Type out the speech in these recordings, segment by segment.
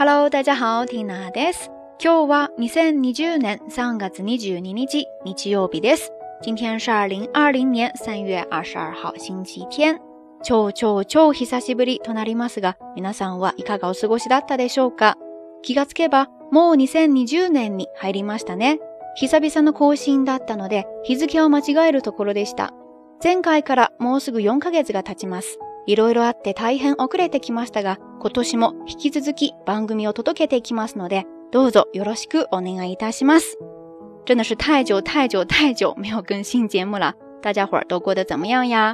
Hello， 大家好，ティナです。今日は2020年3月22日、日曜日です。今天是2020年3月22号星期天。超久しぶりとなりますが、皆さんはいかがお過ごしだったでしょうか。気がつけば、もう2020年に入りましたね。久々の更新だったので、日付を間違えるところでした。前回からもうすぐ4ヶ月が経ちます。いろいろあって大変遅れてきましたが、今年も引き続き番組を届けていきますので、どうぞよろしくお願いいたします。真的是太久没有更新节目了，大家伙儿都过得怎么样呀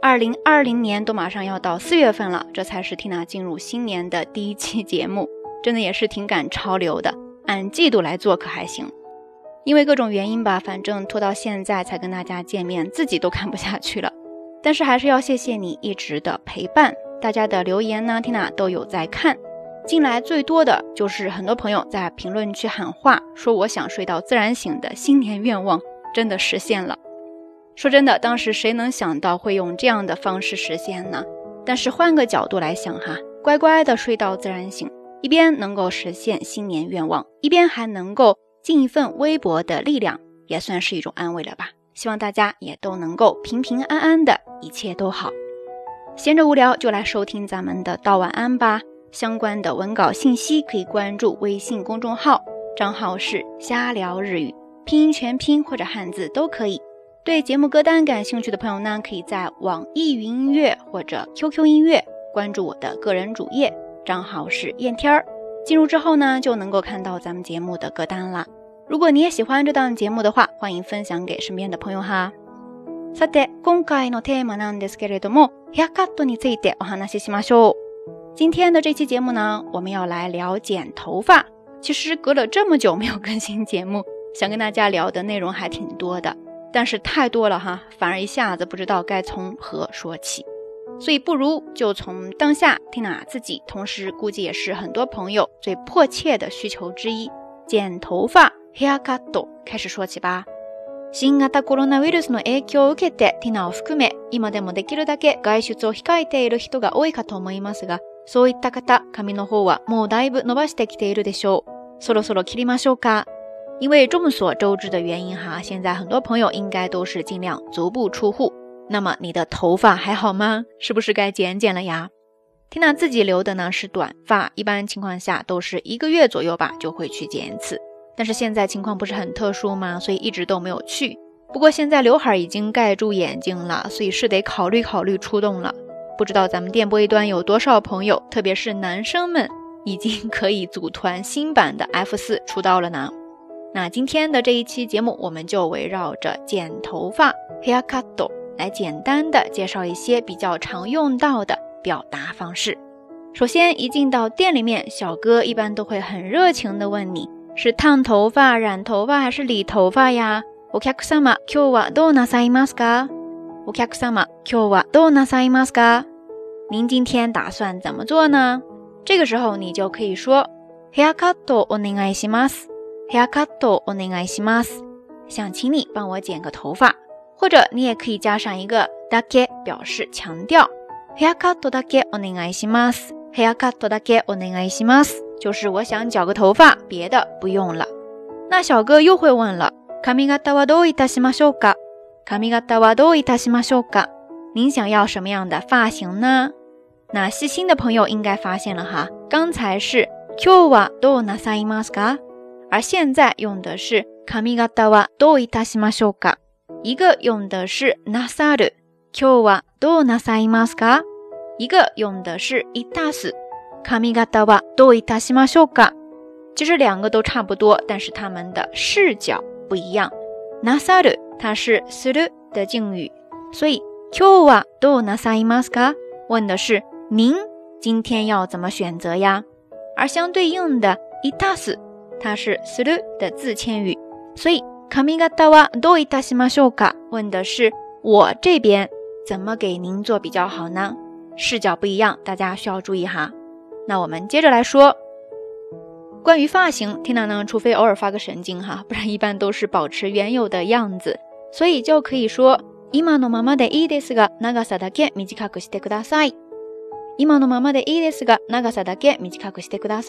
？2020年都马上要到4月份了，这才是 Tina 进入新年的第一期节目，真的也是挺赶潮流的，按季度来做可还行。因为各种原因吧，反正拖到现在才跟大家见面，自己都看不下去了。但是还是要谢谢你一直的陪伴，大家的留言呢 Tina 都有在看。进来最多的就是很多朋友在评论区喊话，说我想睡到自然醒的新年愿望真的实现了。说真的，当时谁能想到会用这样的方式实现呢？但是换个角度来想哈，乖乖的睡到自然醒，一边能够实现新年愿望，一边还能够尽一份微薄的力量，也算是一种安慰了吧。希望大家也都能够平平安安的，一切都好。闲着无聊就来收听咱们的道晚安吧。相关的文稿信息可以关注微信公众号，账号是瞎聊日语，拼音全拼或者汉字都可以。对节目歌单感兴趣的朋友呢，可以在网易云音乐或者 QQ 音乐关注我的个人主页，账号是燕天儿。进入之后呢，就能够看到咱们节目的歌单啦。如果你也喜欢这档节目的话，欢迎分享给身边的朋友哈。さて、今回のテーマなんですけれども、ヘアカットについてお話ししましょう。今天的这期节目呢，我们要来聊剪头发。其实隔了这么久没有更新节目，想跟大家聊的内容还挺多的，但是太多了哈，反而一下子不知道该从何说起。所以不如就从当下 Tina 自己，同时估计也是很多朋友最迫切的需求之一，剪头发 hair cut 开始说起吧。新型コロナウイルスの影響を受けて Tina を含め、今でもできるだけ外出を控えている人が多いかと思いますが、そういった方、髪の方はもうだいぶ伸ばしてきているでしょう。そろそろ切りましょうか。因为众所周知的原因哈，现在很多朋友应该都是尽量足不出户。那么你的头发还好吗？是不是该剪剪了呀？ Tina 自己留的呢是短发，一般情况下都是1个月左右吧就会去剪一次。但是现在情况不是很特殊吗？所以一直都没有去。不过现在刘海已经盖住眼睛了，所以是得考虑出动了。不知道咱们电波一端有多少朋友，特别是男生们，已经可以组团新版的 F4 出道了呢。那今天的这一期节目，我们就围绕着剪头发 hair cut 来简单的介绍一些比较常用到的表达方式。首先一进到店里面，小哥一般都会很热情的问你，是烫头发、染头发还是理头发呀？お客様、今日はどうなさいますか？お客様、今日はどうなさいますか？您今天打算怎么做呢？这个时候你就可以说ヘアカットお願いします。ヘアカットお願いします。想请你帮我剪个头发，或者你也可以加上一个だけ表示强调。ヘアカットだけお願いします。ヘアカットだけお願いします。就是我想剪个头发，别的不用了。那小哥又会问了，髪型はどういたしましょうか？髪型はどういたしましょうか？您想要什么样的发型呢？那细心的朋友应该发现了哈，刚才是今日はどうなさいますか？而现在用的是髪型はどういたしましょうか？一个用的是なさる，今日はどうなさいますか？一个用的是いたす，髪型はどういたしましょうか？其实两个都差不多，但是它们的视角不一样。なさる它是する的敬语，所以今日はどうなさいますか？问的是您今天要怎么选择呀？而相对应的いたす它是する的自谦语，所以髪型はどういたしましょうか？问的是我这边怎么给您做比较好呢？视角不一样，大家需要注意哈。那我们接着来说关于发型 Tina 呢，除非偶尔发个神经哈，不然一般都是保持原有的样子，所以就可以说今のままでいいですが長さだけ短くしてください。今のままでいいですが長さだけ短くしてください。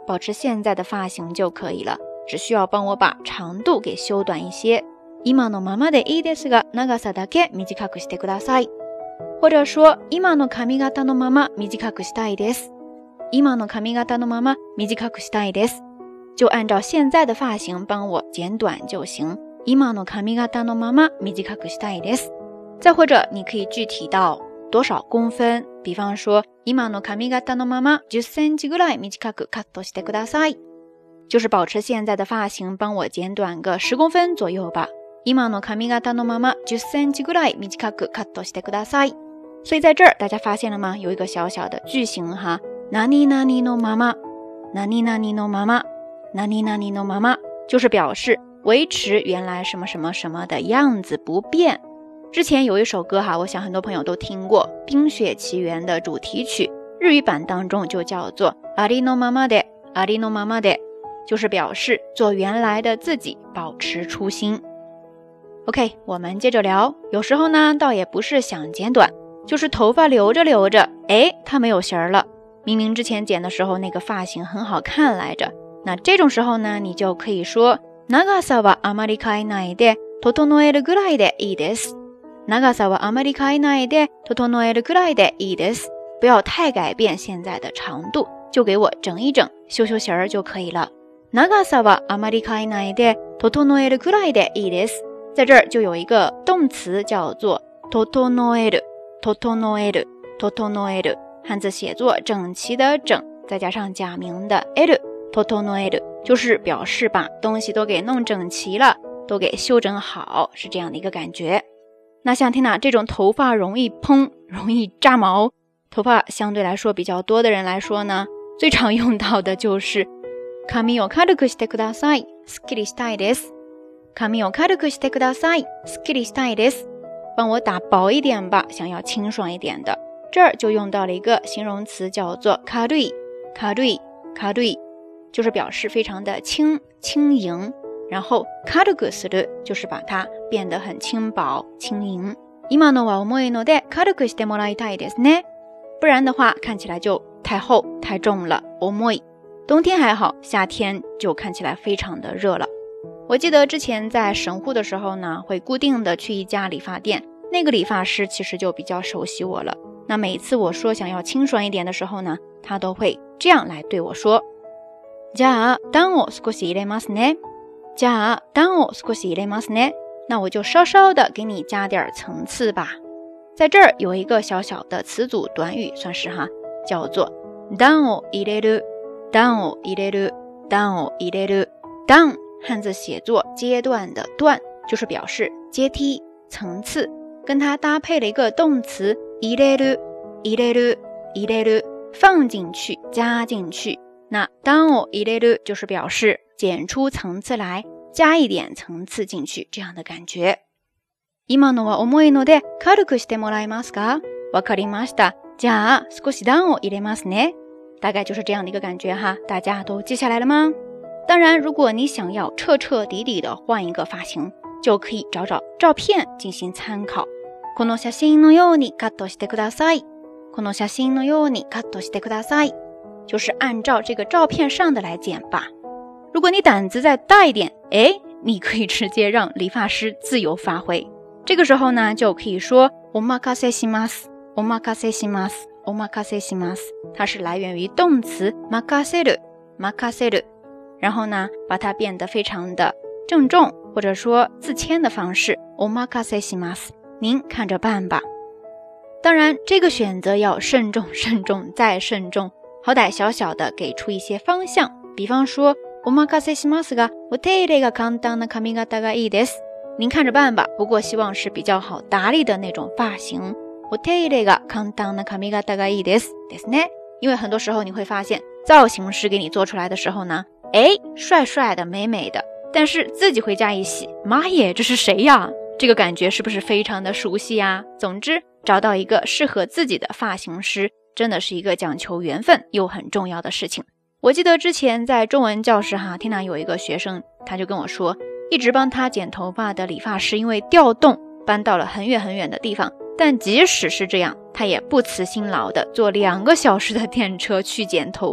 保持现在的发型就可以了，只需要帮我把长度给修短一些。今のままでいいですが、長さだけ短くしてください。或者说、今の髪型のまま短くしたいです。今の髪型のまま短くしたいです。就按照现在的发型帮我剪短就行。今の髪型のまま短くしたいです。再或者你可以具体到多少公分，比方说今の髪型のまま10センチぐらい短くカットしてください。就是保持现在的发型帮我剪短个10公分左右吧。今の髪型のまま10センチぐらい短くカットしてください。所以在这儿大家发现了吗？有一个小小的句型哈，何々のまま、何々のまま、何々のまま，就是表示维持原来什么什么什么的样子不变。之前有一首歌哈，我想很多朋友都听过，《冰雪奇缘》的主题曲，日语版当中就叫做ありのままで、ありのままで，就是表示做原来的自己，保持初心。OK， 我们接着聊。有时候呢，倒也不是想剪短，就是头发留着留着，它没有型儿了。明明之前剪的时候那个发型很好看来着，那这种时候呢，你就可以说長さはあまり変えないで整えるぐらいでいいです。長さはあまり変えないで整えるぐらいでいいです。不要太改变现在的长度，就给我整一整，修修型儿就可以了。長さはあまり変えないで整えるぐらいでいいです。在这儿就有一个动词叫做整える、整える、整える，汉字写作整齐的整，再加上假名的える、整える，就是表示把东西都给弄整齐了，都给修整好，是这样的一个感觉。那像Tina这种头发容易蓬、容易炸毛，头发相对来说比较多的人来说呢，最常用到的就是髪を軽くしてください、すっきりしたいです。髪を軽くしてください、すっきりしたいです。帮我打薄一点吧，想要清爽一点的。这儿就用到了一个形容词叫做軽い、軽い、軽い，就是表示非常的轻、轻盈。然后軽くする就是把它变得很轻薄、轻盈。今のは重いので軽くしてもらいたいですね。不然的话看起来就太厚、太重了。重い。冬天还好，夏天就看起来非常的热了。我记得之前在神户的时候呢，会固定的去一家理发店，那个理发师其实就比较熟悉我了。那每次我说想要清爽一点的时候呢，他都会这样来对我说。じゃあ、段を少し入れますね。じゃあ、段を少し入れますね。那我就稍稍的给你加点层次吧。在这儿有一个小小的词组短语，算是哈，叫做段を入れる、段を入れる、段を入れる。段汉字写作阶段的段，就是表示阶梯、层次，跟它搭配了一个动词入れる、入れる、入れる，放进去、加进去。那段を入れる就是表示剪出层次来，加一点层次进去，这样的感觉。今のは重いので軽くしてもらえますか？わかりました。じゃあ少し段を入れますね。大概就是这样的一个感觉哈，大家都记下来了吗？当然，如果你想要彻彻底底的换一个发型，就可以找找照片进行参考。この写真のようにカットしてください。この写真のようにカットしてください。就是按照这个照片上的来剪吧。如果你胆子再大一点，你可以直接让理发师自由发挥。这个时候呢，就可以说お任せします、お任せします、お任せします。它是来源于动词任せる、任せる。然后呢，把它变得非常的郑重，或者说自谦的方式，お任せします。您看着办吧。当然，这个选择要慎重、慎重再慎重，好歹小小的给出一些方向。比方说，お任せしますが、お手入れが簡単な髪型がいいです。您看着办吧，不过希望是比较好打理的那种发型。お手入れが簡単な髪型がいいですですね。因为很多时候你会发现，造型师给你做出来的时候呢，帅帅的、美美的，但是自己回家一洗，妈耶，这是谁呀？这个感觉是不是非常的熟悉呀？总之，找到一个适合自己的发型师，真的是一个讲求缘分又很重要的事情。我记得之前在中文教室哈，Tina有一个学生，他就跟我说，一直帮他剪头发的理发师因为调动搬到了很远很远的地方，但即使是这样，他也不辞辛劳的坐2个小时的电车去剪头发。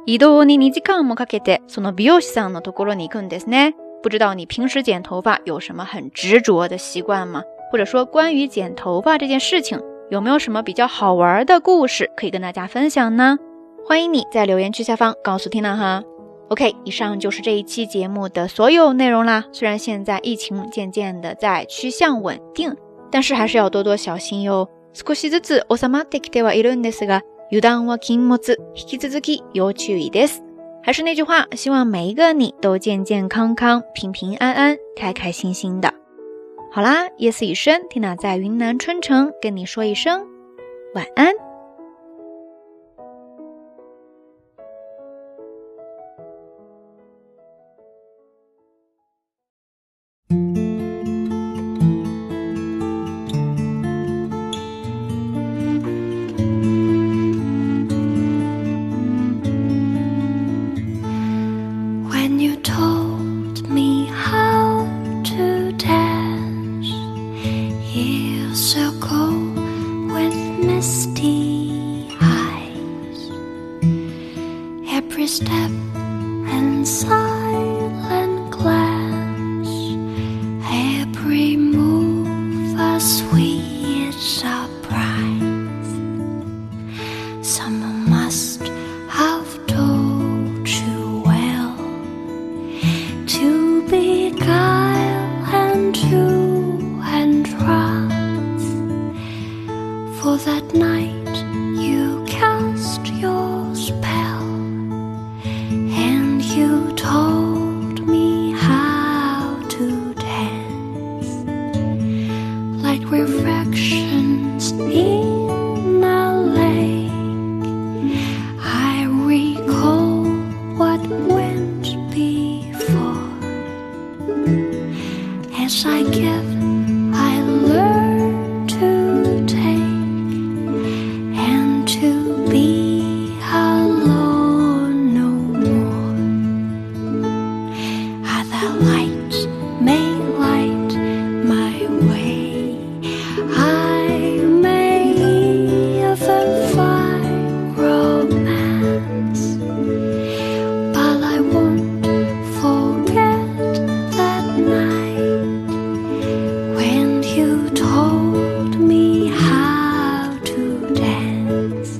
移動に2時間もかけてその美容師さんのところに行くんですね。不知道你平时剪头发有什么很执着的习惯吗？或者说关于剪头发这件事情，有没有什么比较好玩的故事可以跟大家分享呢？欢迎你在留言区下方告诉 Tina 哈。OK， 以上就是这一期节目的所有内容啦。虽然现在疫情渐渐的在趋向稳定，但是还是要多多小心哟。少しずつ収まってきてはいるんですが、油断は禁物、引き続き要注意です。还是那句话，希望每一个你都健健康康、平平安安、开开心心的。好啦，夜色已深 ，Tina 在云南春城跟你说一声晚安。 Every step and silent glance, every move a sweet surprise. Someone must have told you well to beguile and true and trust. For that night you cast your spell, and you told me how to dance like reflections in a lake. I recall what went before. As I give, I learn to take and to be alone no more. Other lights may light my way, I may even find romance, but I won't forget that night when you told me how to dance.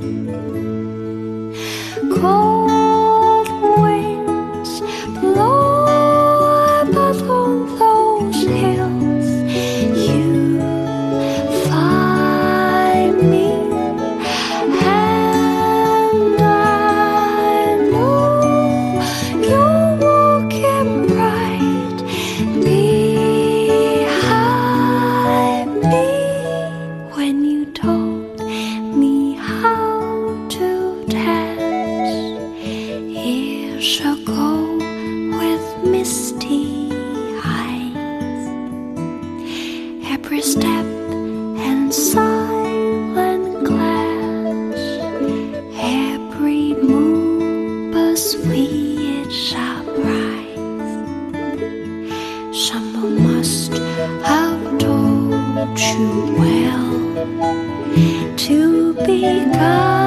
Cold winds blow, but on those hills you find me, and I know you're walking right behind me when you told me how to dance years ago with misty eyes. Every step and silent glance, every move a sweet surprise. Someone must have told you well to be kind.